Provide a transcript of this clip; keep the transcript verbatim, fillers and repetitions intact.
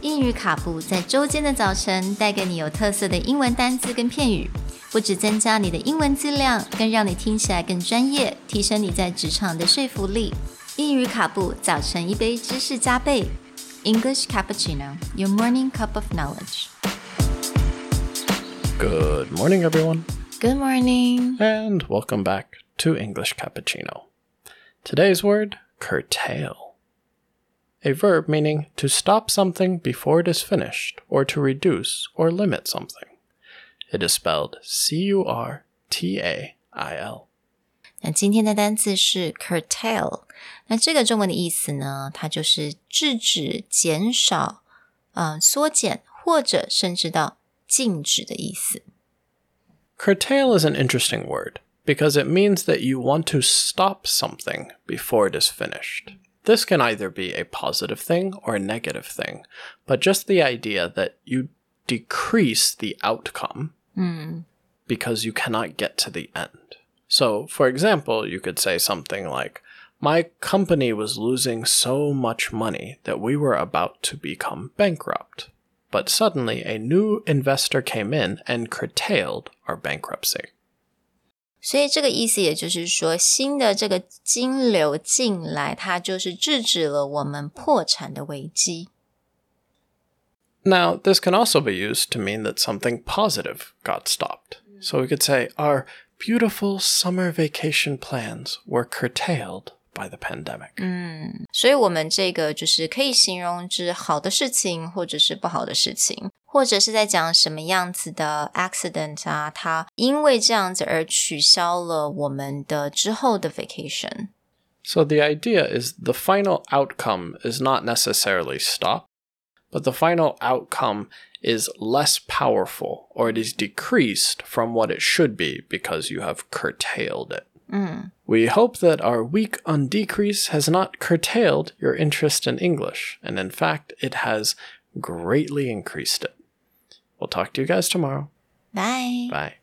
英语卡布在周间的早晨带给你有特色的英文单字跟片语，不只增加你的英文质量，更让你听起来更专业，提升你在职场的说服力。英语卡布早晨一杯知识加倍 English Cappuccino, your morning cup of knowledge. Good morning, everyone. Good morning. And welcome back to English Cappuccino. Today's word, curtail. A verb meaning to stop something before it is finished, or to reduce or limit something. It is spelled C U R T A I L. 那今天的单字是 curtail。那这个中文的意思呢，它就是制止、减少、呃、缩减或者甚至到禁止的意思。 Curtail is an interesting word because it means that you want to stop something before it is finished. This can either be a positive thing or a negative thing, but just the idea that you decrease the outcome mm. because you cannot get to the end. So, for example, you could say something like, my company was losing so much money that we were about to become bankrupt. But suddenly a new investor came in and curtailed our bankruptcy. 所以这个意思也就是说，新的这个金流进来，它就是制止了我们破产的危机。 Now, this can also be used to mean that something positive got stopped. So we could say, our beautiful summer vacation plans were curtailed by the pandemic. 嗯，所以我们这个就是可以形容之好的事情，或者是不好的事情，或者是在讲什么样子的 accident 啊，它因为这样子而取消了我们的之后的 vacation. So the idea is the final outcome is not necessarily stopped, but the final outcome is less powerful, or it is decreased from what it should be because you have curtailed it. Mm. We hope that our week on decrease has not curtailed your interest in English, and in fact, it has greatly increased it. We'll talk to you guys tomorrow. Bye. Bye.